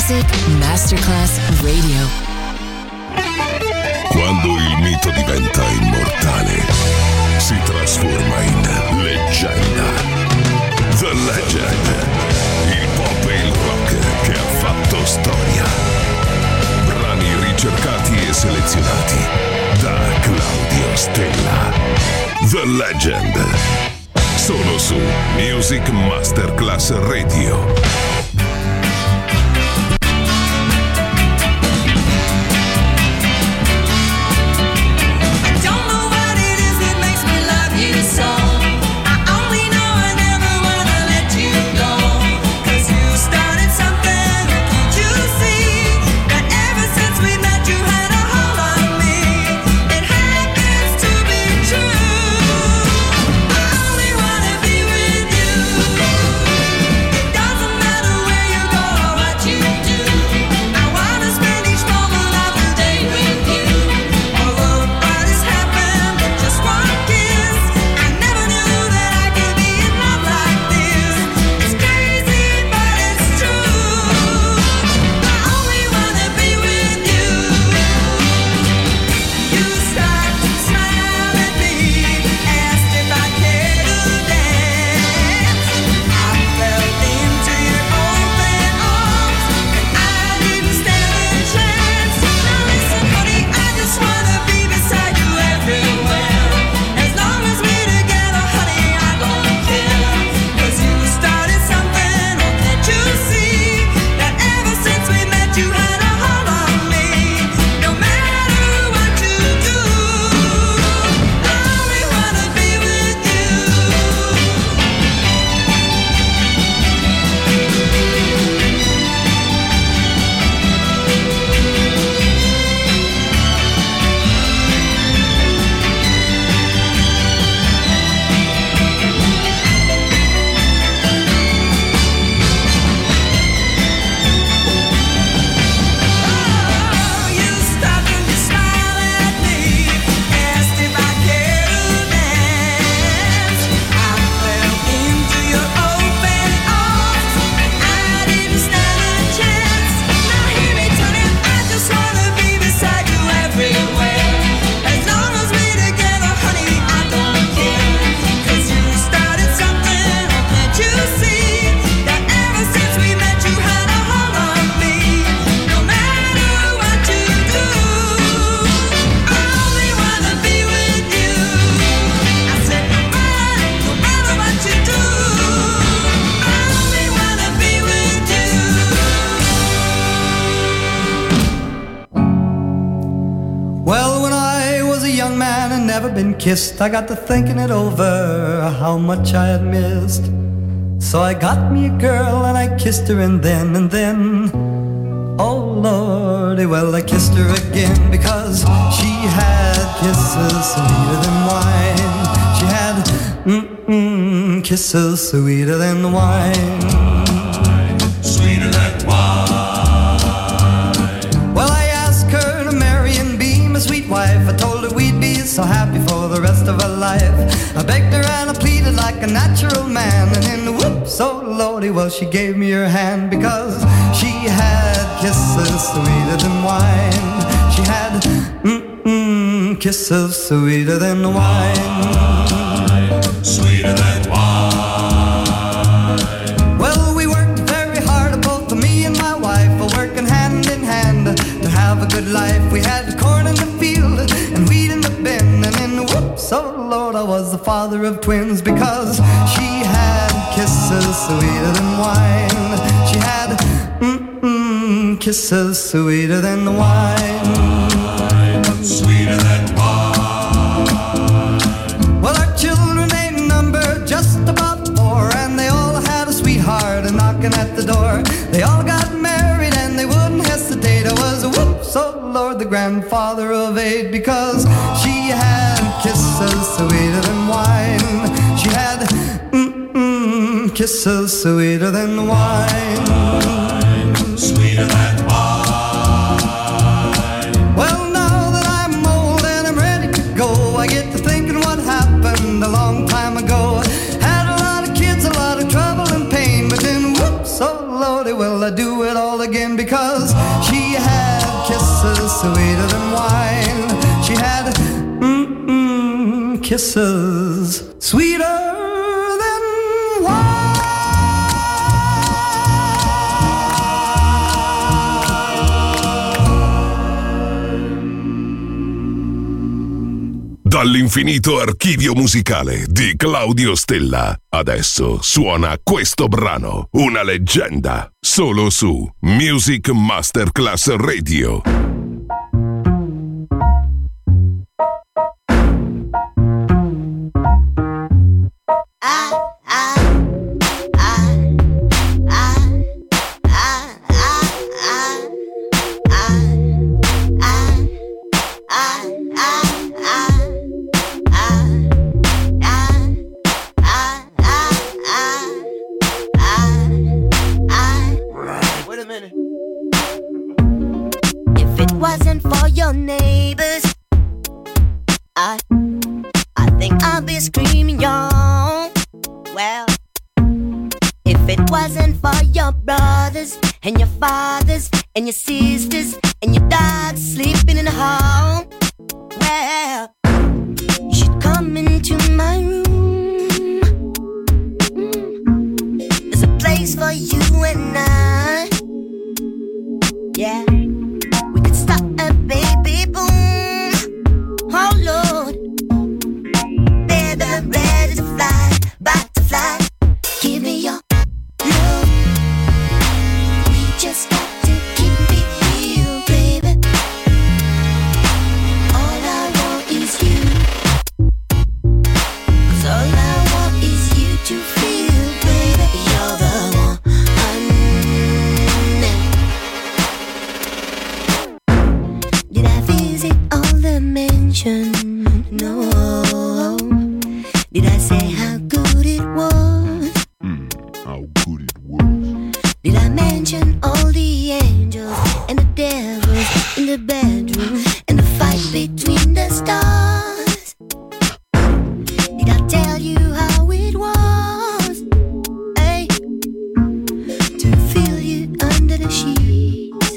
Music Masterclass Radio. Quando il mito diventa immortale, si trasforma in leggenda. The Legend, il pop e il rock che ha fatto storia. Brani ricercati e selezionati da Claudio Stella. The Legend, solo su Music Masterclass Radio. Kissed, I got to thinking it over, how much I had missed. So I got me a girl and I kissed her and then, oh Lordy, well I kissed her again because she had kisses sweeter than wine. She had kisses sweeter than wine. Sweeter than wine. Well, I asked her to marry and be my sweet wife. I told her we'd be so happy for the rest of her life. I begged her and I pleaded like a natural man. And then whoops, oh Lordy, well she gave me her hand because she had kisses sweeter than wine. She had kisses sweeter than wine. Sweeter than wine. Well, we worked very hard, both me and my wife, working hand in hand to have a good life. We had corn in the field and wheat in the bin, and then whoops, oh Lord, I was the father of twins because she had kisses sweeter than wine. She had kisses sweeter than wine. Sweeter than wine. Well, our children ain't numbered, just about 4, and they all had a sweetheart knocking at the door. They all got married and they wouldn't hesitate. I was whoops, oh Lord, the grandfather of 8 because she had kisses sweeter than wine. She had kisses sweeter than wine. Sweeter than wine. Well, now that I'm old and I'm ready to go, I get to thinking what happened a long time ago. Had a lot of kids, a lot of trouble and pain, but then whoops, oh Lordy, will I do it all again because she had kisses sweeter than wine. She had kisses sweeter than wine. Dall'infinito archivio musicale di Claudio Stella. Adesso suona questo brano, una leggenda, solo su Music Masterclass Radio. Screaming, y'all. Well, if it wasn't for your brothers and your fathers and your sisters and your dogs sleeping in the hall, well, you should come into my room. There's a place for you and I. Yeah, we could stop a baby boom. Oh Lord, I'm ready to fly, about to fly. Give me your love. We just got to keep it real, baby. All I want is you. 'Cause all I want is you to feel, baby. You're the one Did I visit all the mansions? No. Did I say how good it was? How good it was. Did I mention all the angels and the devils in the bedroom and the fight between the stars? Did I tell you how it was? Hey, to feel you under the sheets.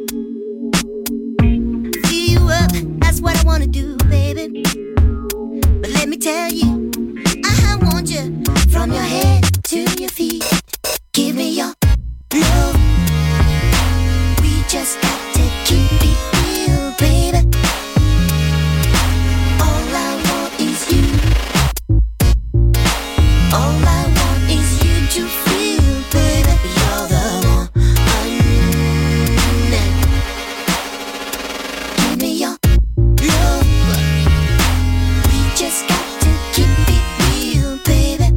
Fill you up, that's what I wanna do, baby. But let me tell you, from your head to your feet, give me your love. We just got to keep it real, baby. All I want is you. All I want is you to feel, baby. You're the one. Give me your love. We just got to keep it real, baby.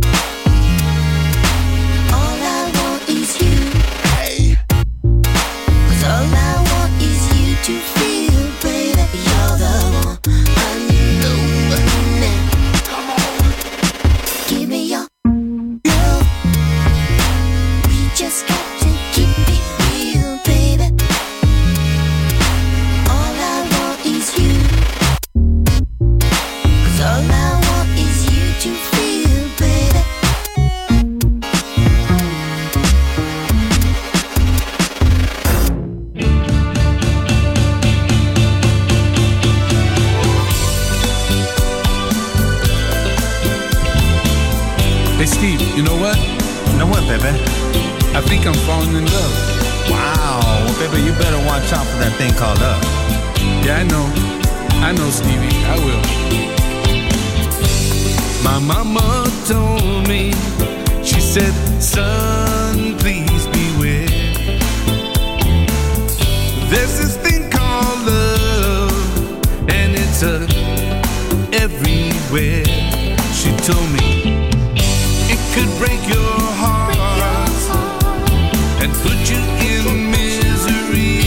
All I want is you. Hey. 'Cause all I want is you to feel, baby. You're the one I know. Come on. Give me your love. We just got to keep it real, baby. All I want is you. 'Cause all I want is you to feel, baby. Hey Steve, you know what? You know what, baby? I think I'm falling in love. Wow, well, baby, you better watch out for that thing called love. Yeah, I know, Stevie, I will. My mama told me, she said, son, please beware. There's this thing called love, and it's everywhere. She told me it could break your heart and put you in misery.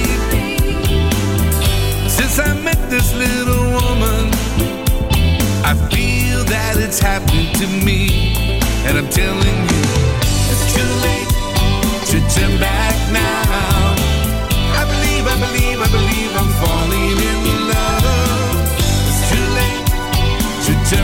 Since I met this little woman, I feel that it's happened to me. And I'm telling you, it's too late to turn back now. I believe I'm falling in love. It's too late to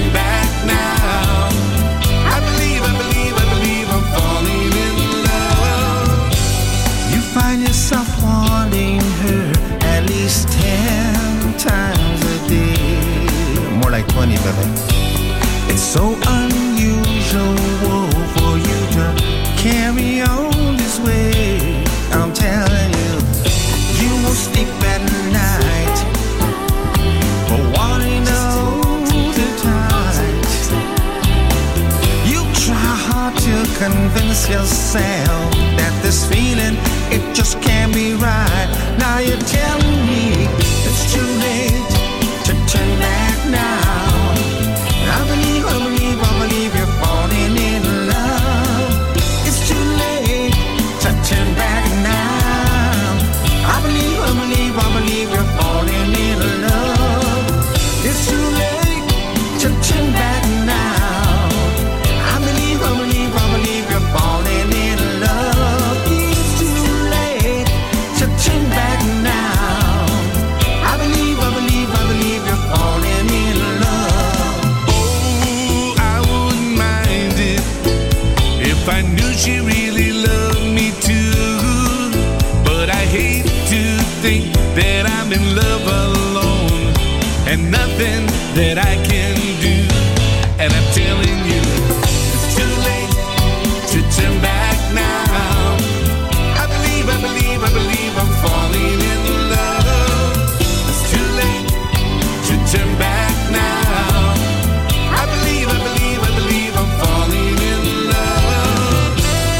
so unusual for you to carry on this way. I'm telling you, you won't sleep at night for wanting all the time. You try hard to convince yourself that this feeling, it just can't be right. Now you're telling me it's too late to turn back now. I believe you're falling in love. It's too late to turn back now. I believe you're falling in love. It's too late to turn back now. I believe you're falling in love. It's too late to turn back now. I believe you're falling in love. Oh, I wouldn't mind it if I knew she really loved me too. But I hate to think that I'm in love alone and nothing that I can do. And I'm telling you, it's too late to turn back now. I believe I'm falling in love. It's too late to turn back now. I believe I'm falling in love.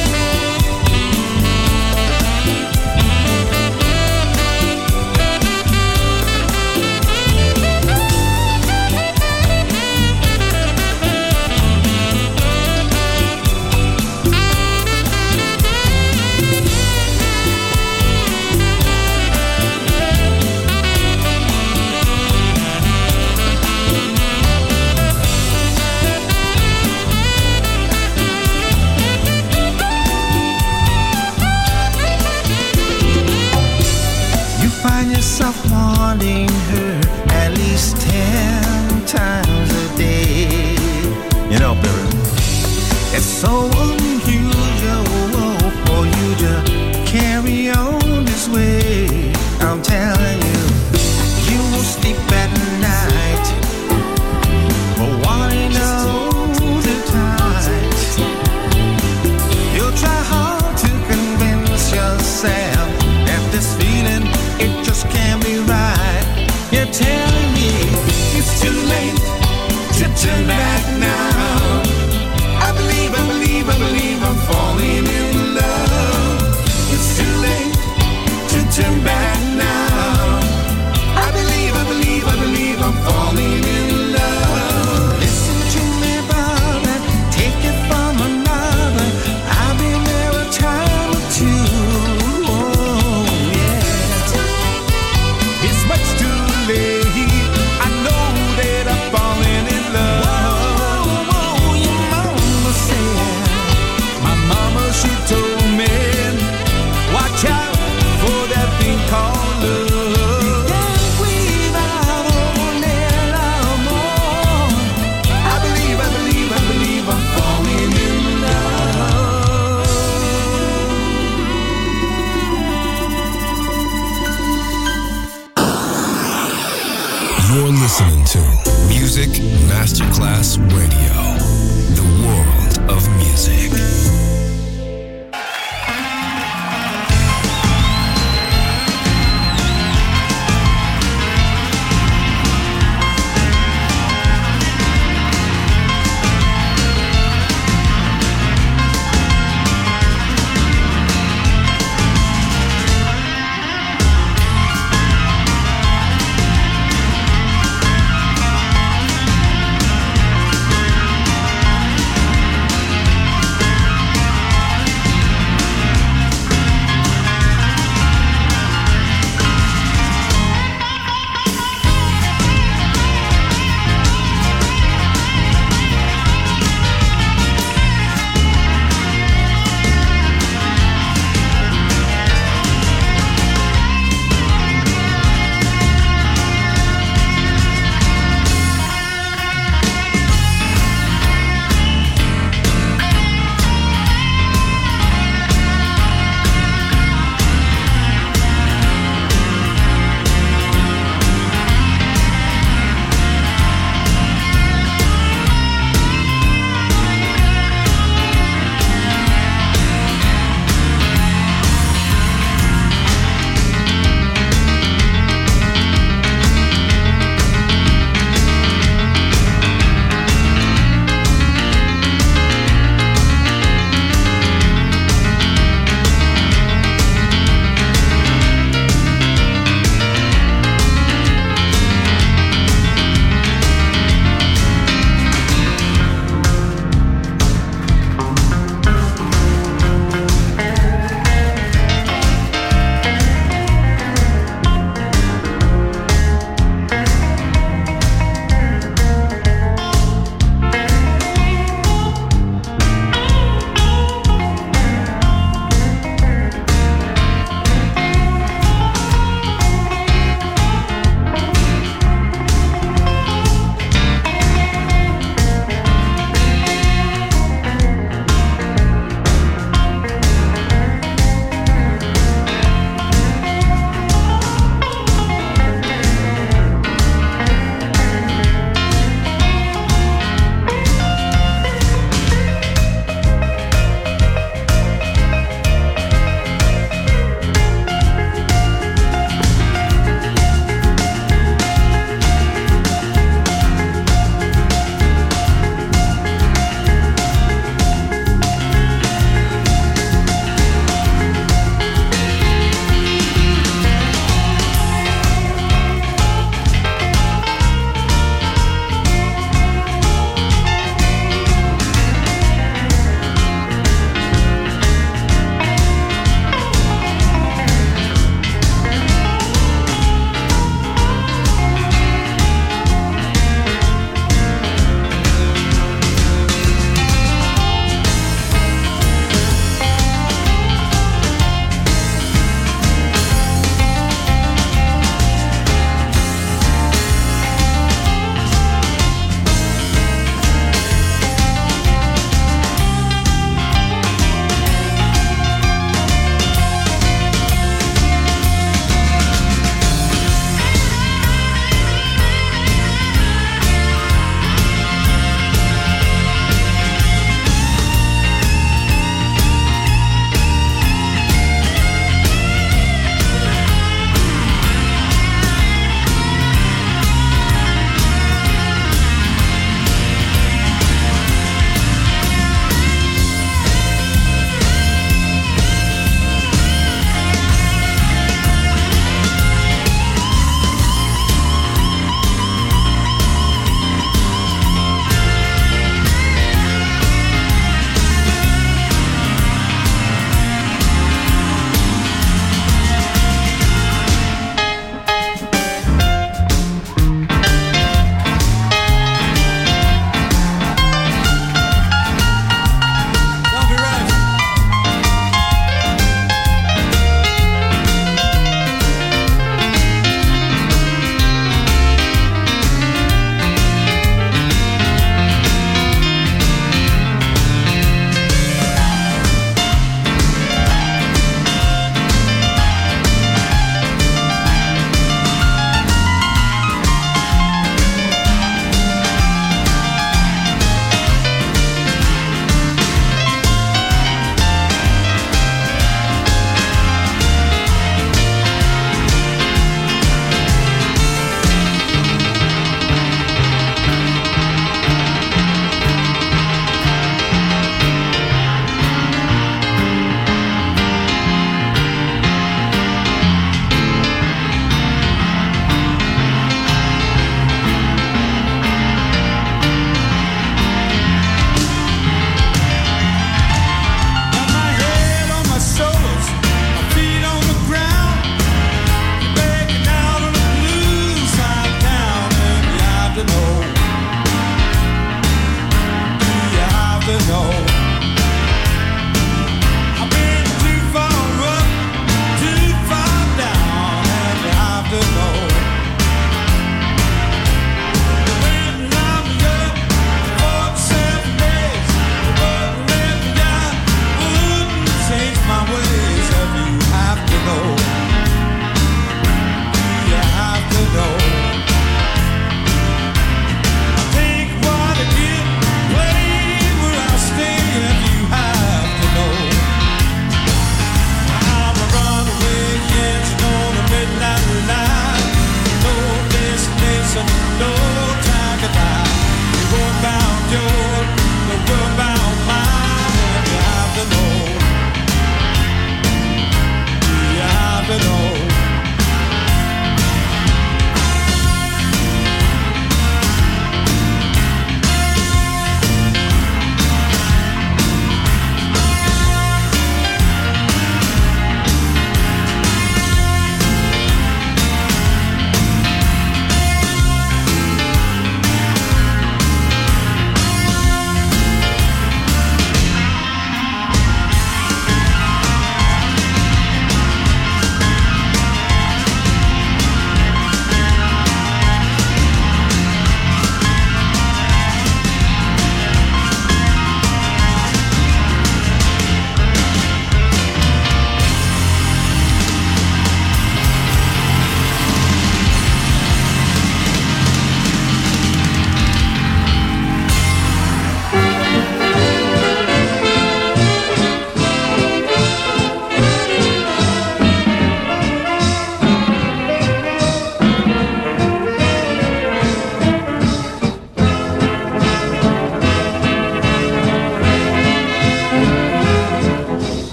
You find yourself wanting her at least 10 times a day. You know, baby, it's so unusual for you to carry on this way. I'm telling you, you won't sleep at night for wanting all the time. You'll try hard to convince yourself that this feeling, it just can't be right. You're telling me it's too late to turn back now. I believe I'm falling in love. It's too late to turn back now. I believe I'm falling in love. Listen to me, brother, take it from another. I've been there a time or two. Oh, yeah. It's much too late. I know that I'm falling in love. Whoa, your mama said. My mama, she told me, watch out for that thing called love. Can't breathe out on that more. I believe I'm falling in love. You're listening to Music Masterclass Radio, the world of music.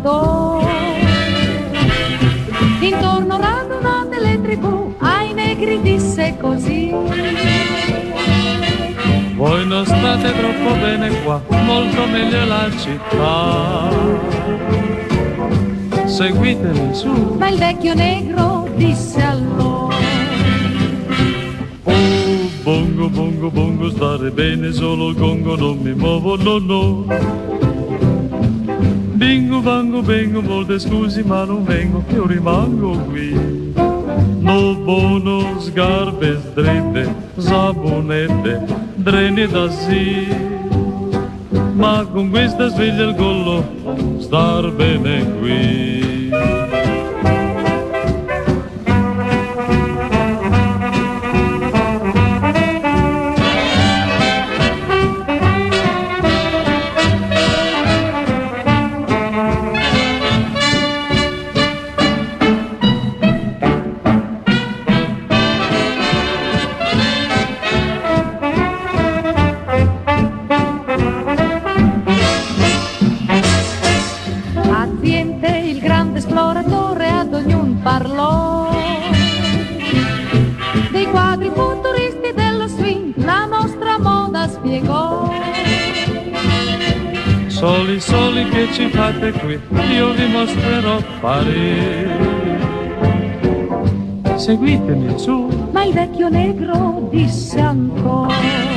cantautore. Intorno radunate le tribù, ai negri disse così: voi non state troppo bene qua, molto meglio la città. Seguitemi su. Ma il vecchio negro disse allora: oh, bongo, bongo, bongo, stare bene solo il gongo, non mi muovo, no, no. Bingo, bango, bengo, molte scusi ma non vengo, io rimango qui. No buono, scarpe strette, sabonette, dreni da sì. Ma con questa sveglia il collo, star bene qui. Parlò dei quadri futuristi dello swing, la nostra moda spiegò. Soli, soli che ci fate qui, io vi mostrerò Parigi. Seguitemi su. Ma il vecchio negro disse ancora: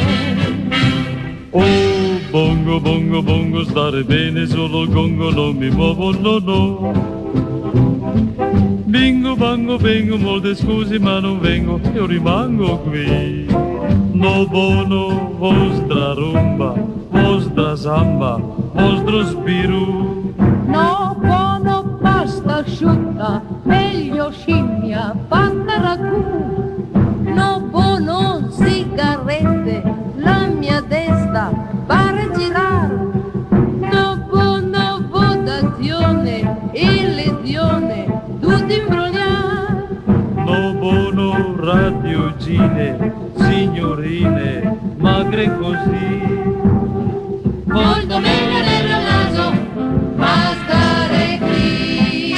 oh, bongo, bongo, bongo, stare bene solo il gongo, non mi muovo, no, no. Bingo, bango, bengo, molte scusi ma non vengo, io rimango qui. No buono, vostra rumba, vostra samba, vostro spiru. No buono, pasta asciutta, meglio scimmia, fatta ragù. No buono, sigarette, la mia testa pare girare. No buono, votazione, illusione, tutti imbrogliati. No buono, radiogine, signorine, magre così. Molto meglio nel naso, ma stare qui.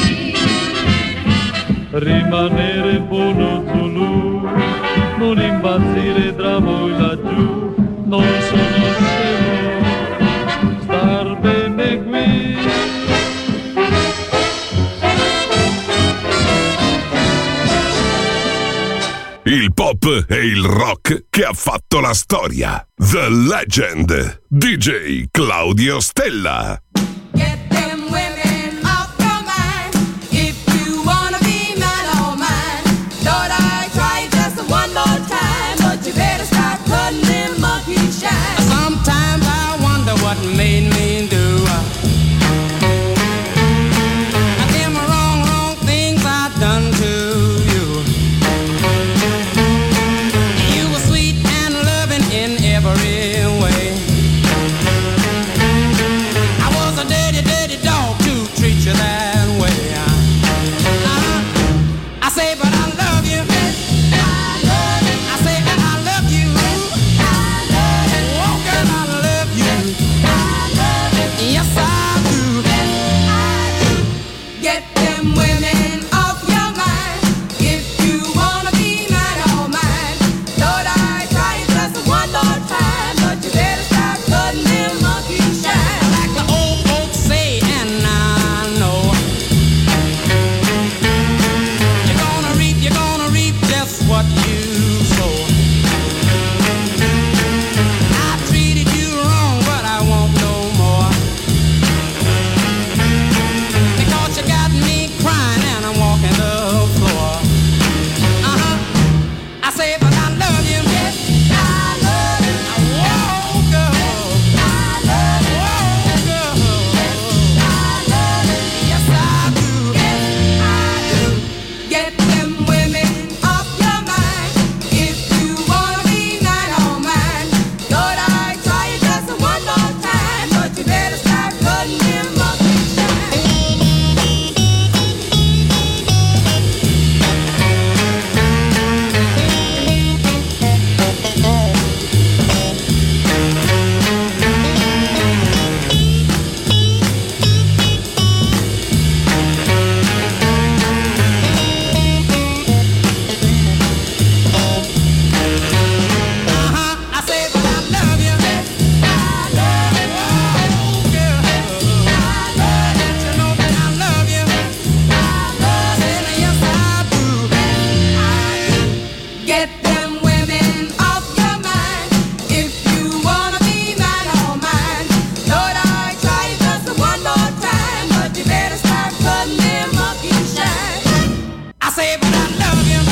Rimanere buono Zulu, non impazzire tra voi laggiù. Non sono scemo, star bene qui. Il pop e il rock che ha fatto la storia. The Legend. DJ Claudio Stella. Get them women off your mind. If you wanna be mine, oh mine. Thought I'd try just one more time, but you better start cutting them monkey shine. Sometimes I wonder what made me do them wrong things I've done to you. You were sweet and loving in every way. I was a dirty dog to treat you that way. I say, but I love you. I say, and I love you. Oh, girl, I love you. Yes, I do. Get them women off your mind. If you wanna be mine, oh mine. Thought I'd try just one more time, but you better start cutting them monkey shine. Like the old folks say, and I know you're gonna reap just what you sow. I treated you wrong, but I won't no more. Because you got me crying and say, but I love you.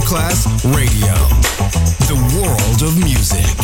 Masterclass Radio, the world of music.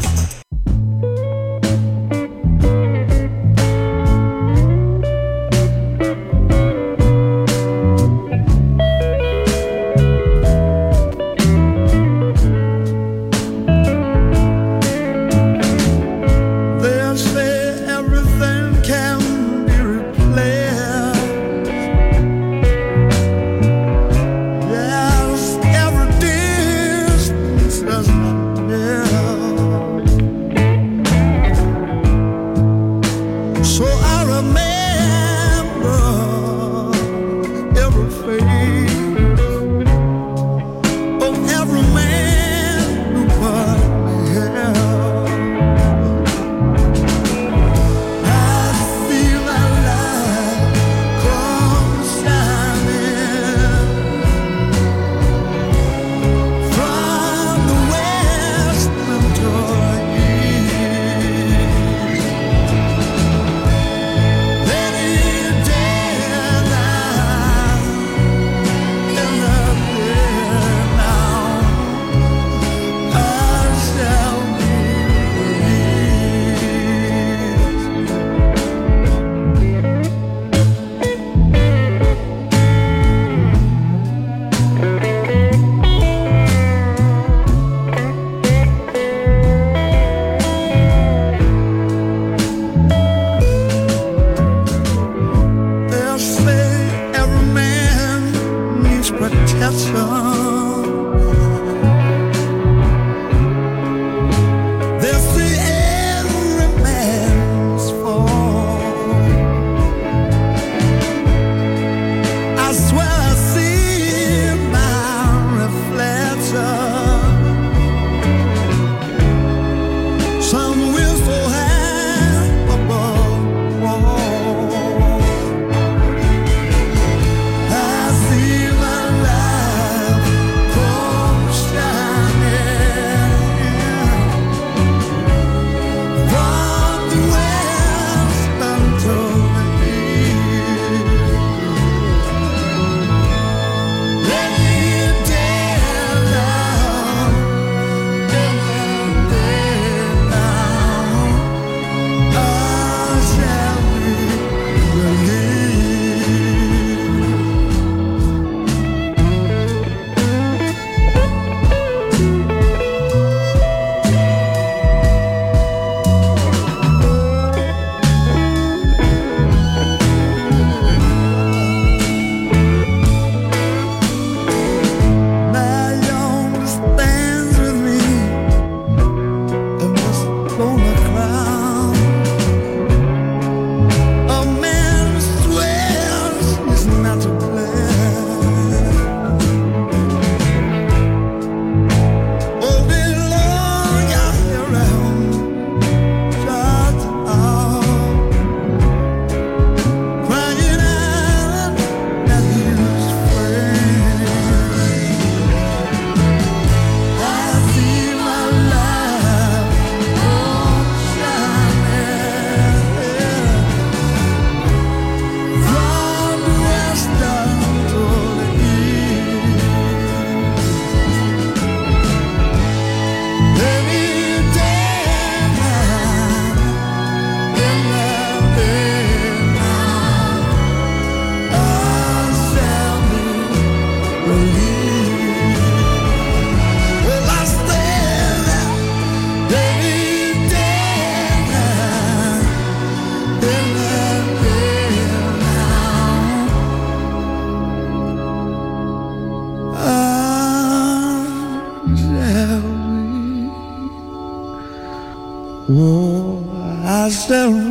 I shall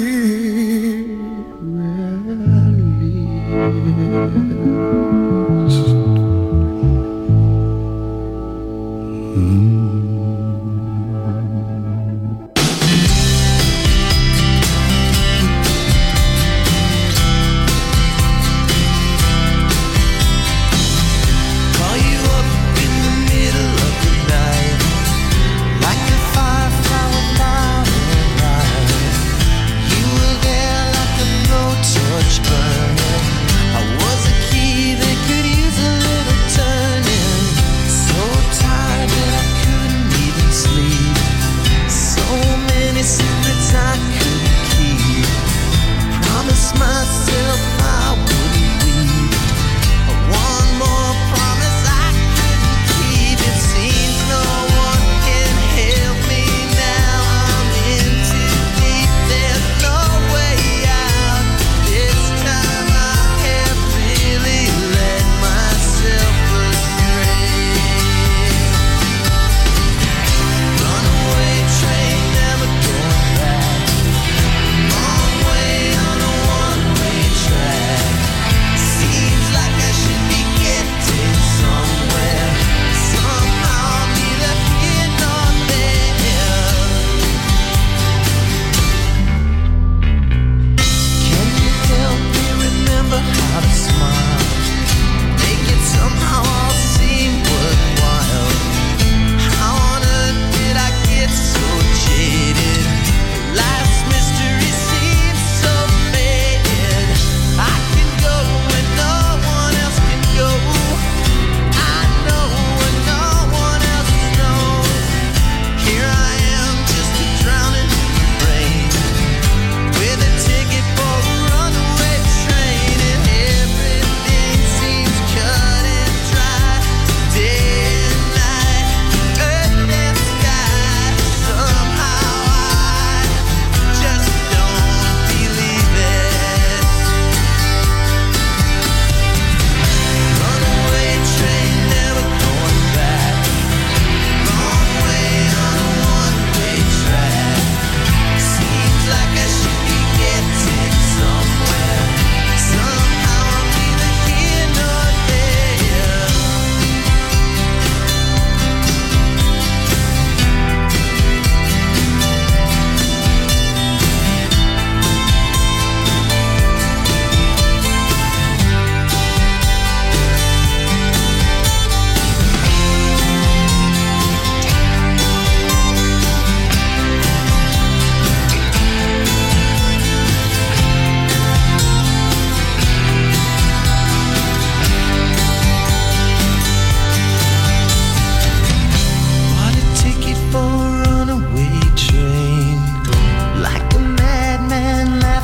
be Burning. I was a key that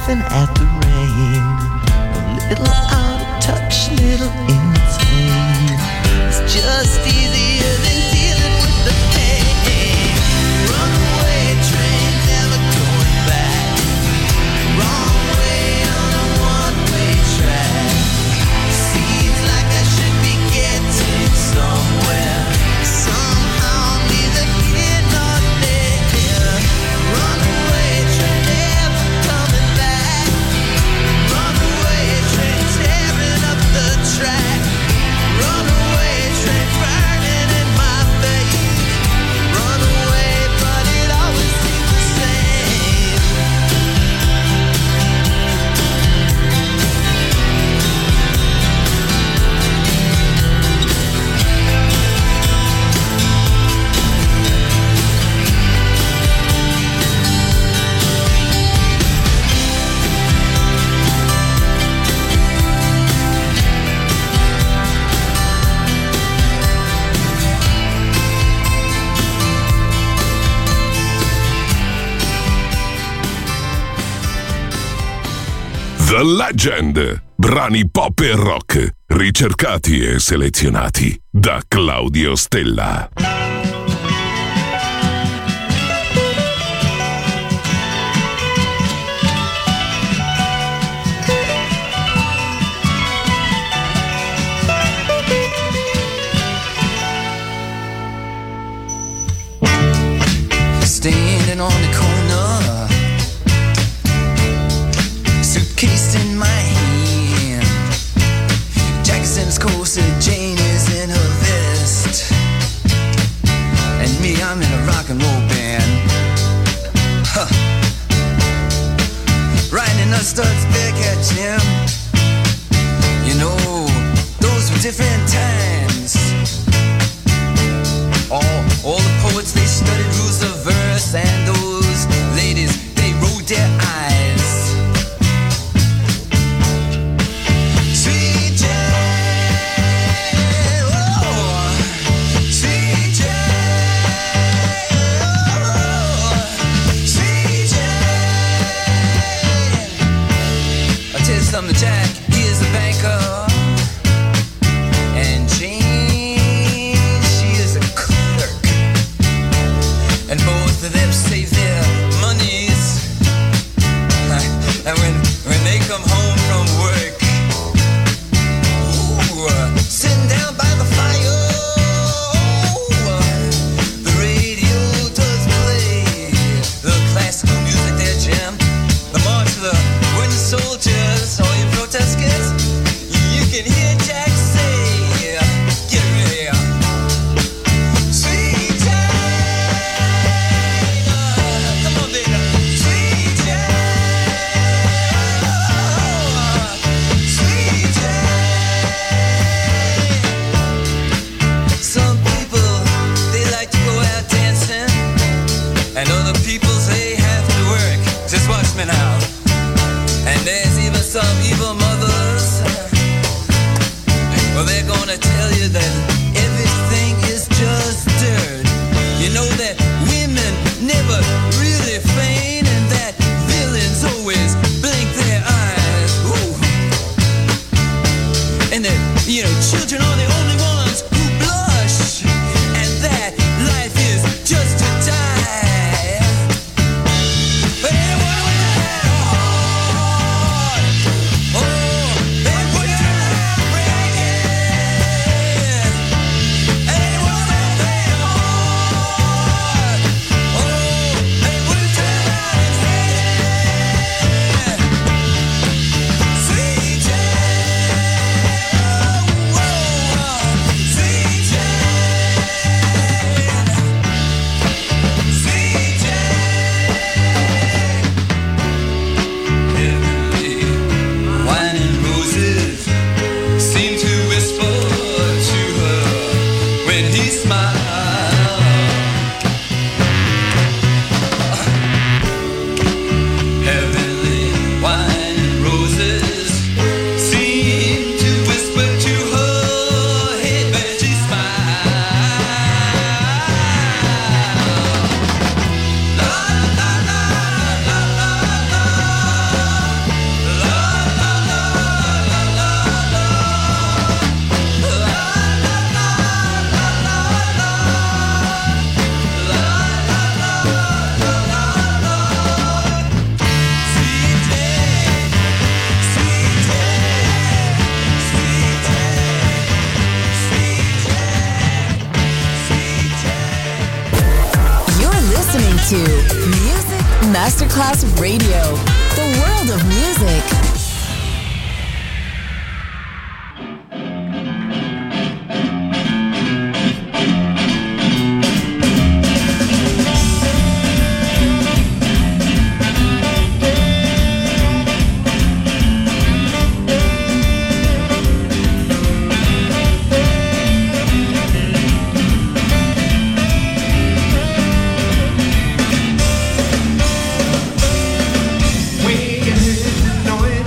laughing at the rain, a little out of touch, little insane. It's just easier than dealing with the pain. Runaway train, never going back. Wrong way on a one-way track. Seems like I should be getting somewhere. Somehow neither here nor there. Runaway train, never coming back. Runaway train, tearing up the track. Runaway train, burning in my face. Runaway, but it always seems the same. The Legend, brani pop e rock, ricercati e selezionati da Claudio Stella. Standing on the corner, suitcase in my hand, Jackson's corset, Jane is in her vest, and me, I'm in a rock and roll band. Huh. Riding a Studs Bearcat, Jim. You know, those were different times. All the poets, they studied rules of verse, and those ladies, they rolled their eyes. Sweet Jane, oh, Sweet Jane, oh, Sweet Jane. I'll tell you something, Jack, he is a banker, and Jane, she is a clerk, and both of them save their monies, and when they come home from work, ooh, sitting down by the fire, the radio does play the classical music there, Jim. The march of the wooden soldiers, all you protesters, you can hear Jack say, get ready, Sweet Jane, come on, baby, Sweet Jane, Sweet Jane. Some people, they like to go out dancing, and other people, they have to work. Just watch me now. And there's even some evil mothers, well, they're gonna tell you that everything is just dirt. You know that women never really faint, and that villains always blink their eyes. Ooh. And that, you know, children are the only ones who blush, and that life is just to die. But anyone with that, oh, to Music Masterclass Radio, the world of music. We heard the noise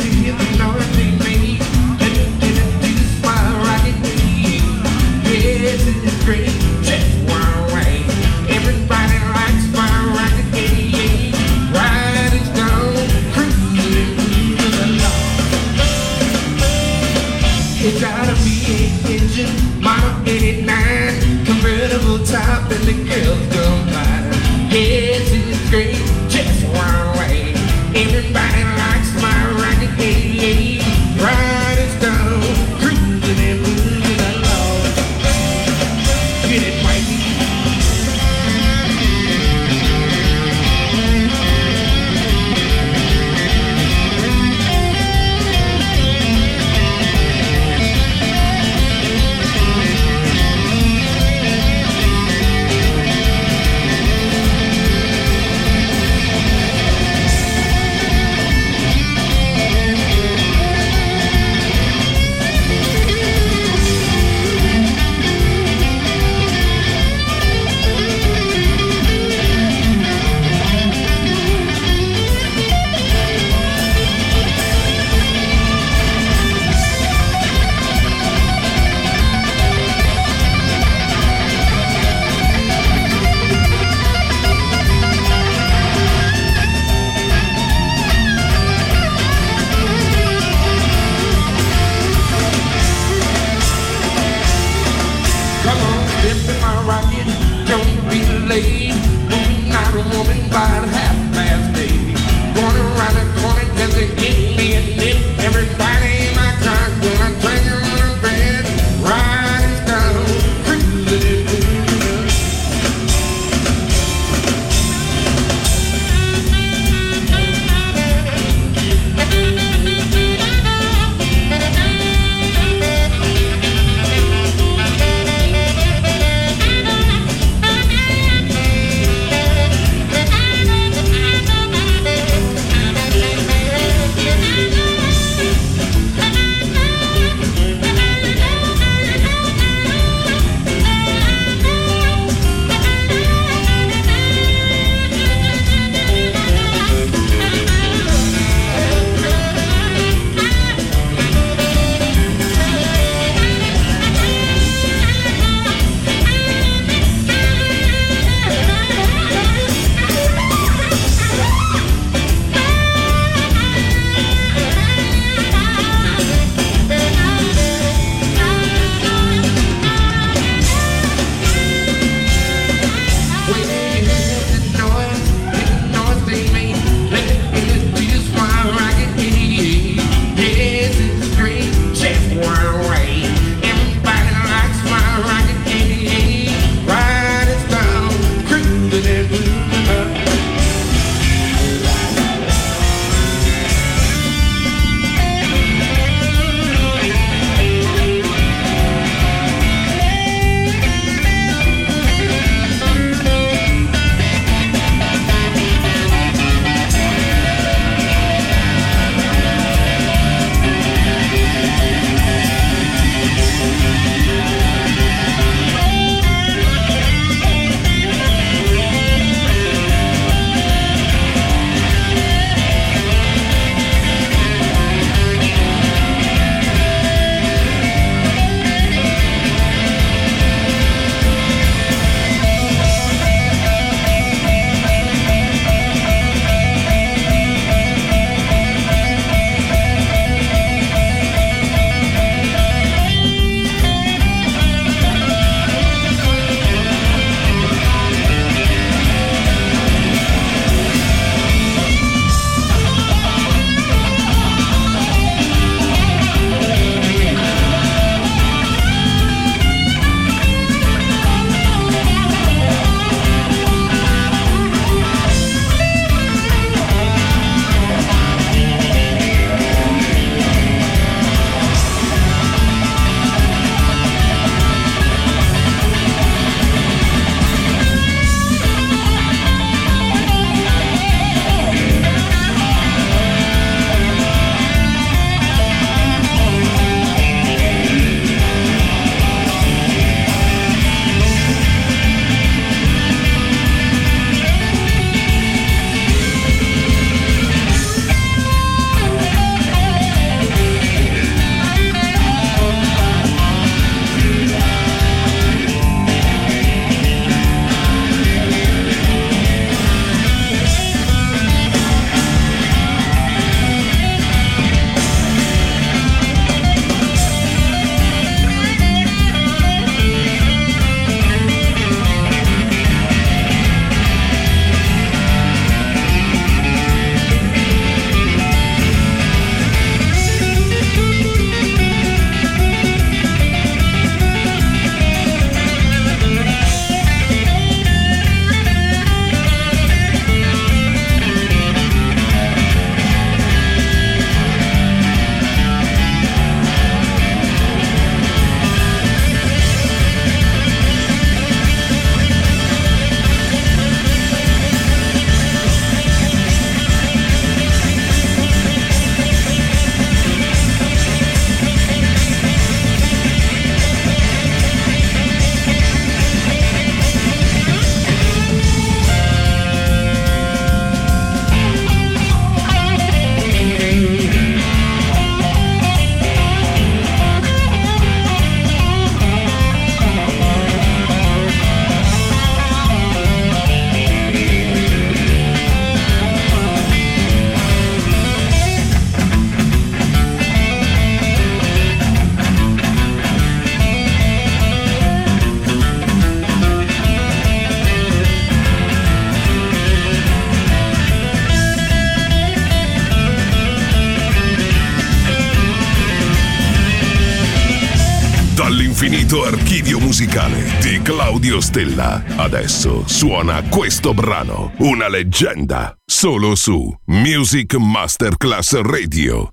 l'infinito archivio musicale di Claudio Stella. Adesso suona questo brano, una leggenda, solo su Music Masterclass Radio.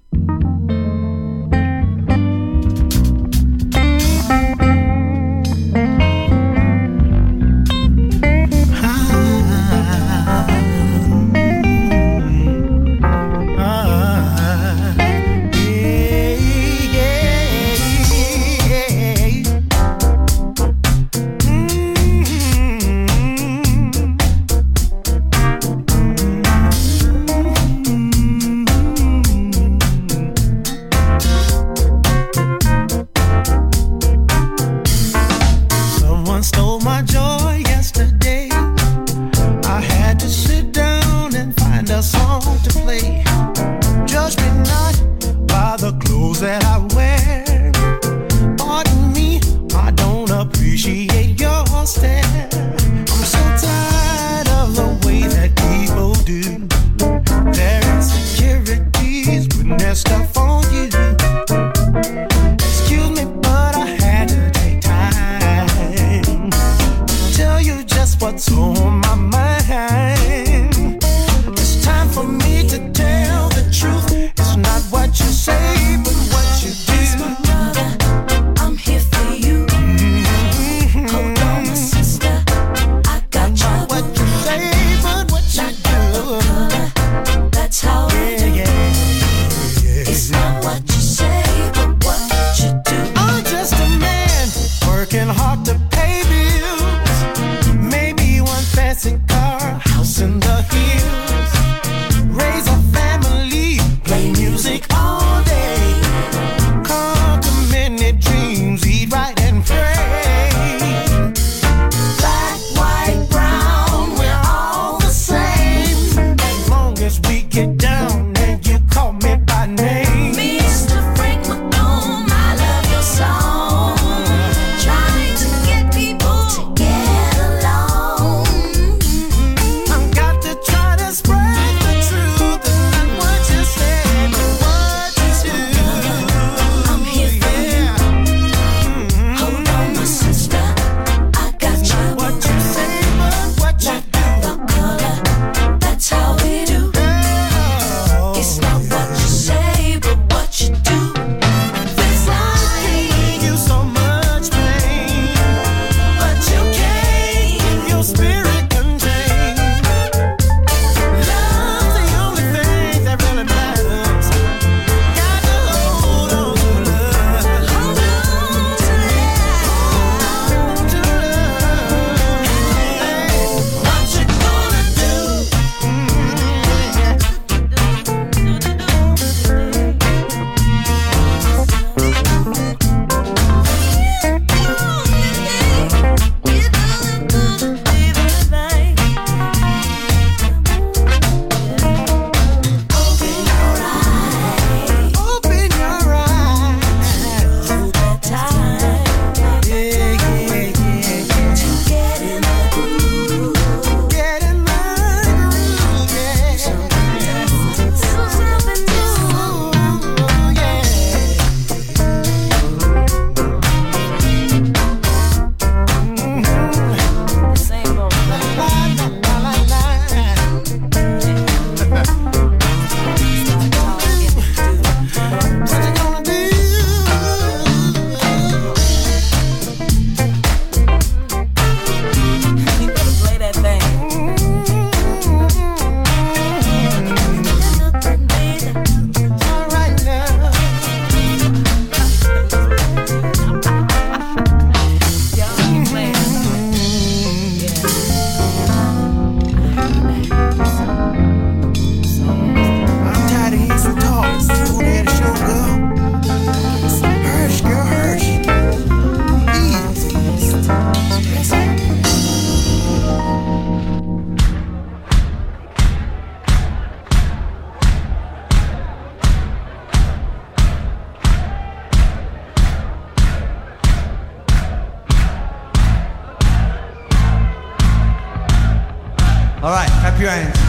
All right, clap your hands.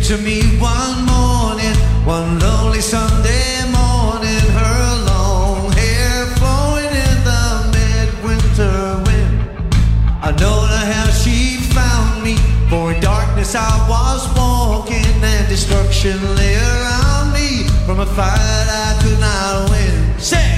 to me one morning, one lonely Sunday morning, her long hair flowing in the midwinter wind. I don't know how she found me, for in darkness I was walking, and destruction lay around me from a fight I could not win. Sing!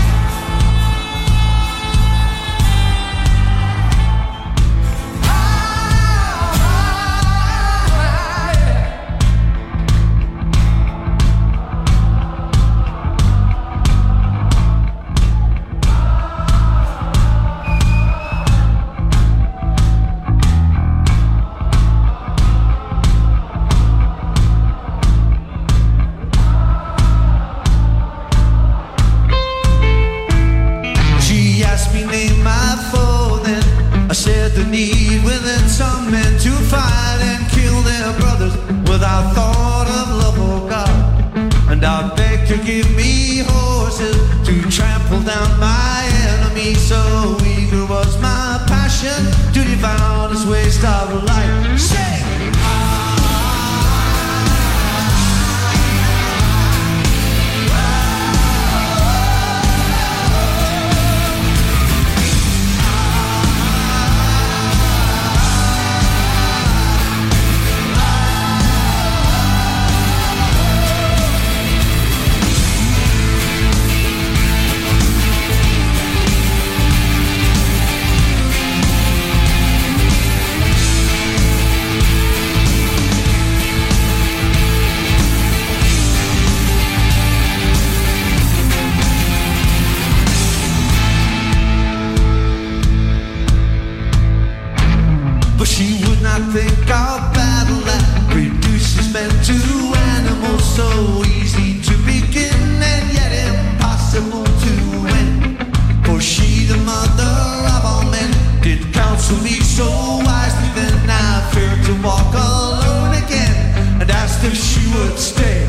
The need within some men to fight and kill their brothers without thought of love or God. And I begged to give me horses to trample down my enemies. So eager was my passion to devour this waste of life. Sing! Think our battle that reduces men to animals, so easy to begin and yet impossible to win. For she, the mother of all men, did counsel me so wisely. Then I feared to walk alone again and asked if she would stay.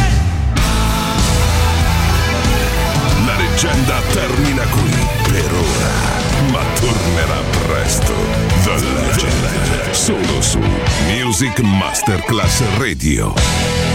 La leggenda termina qui per ora, ma tornerà presto. The Legend, solo su Music Masterclass Radio.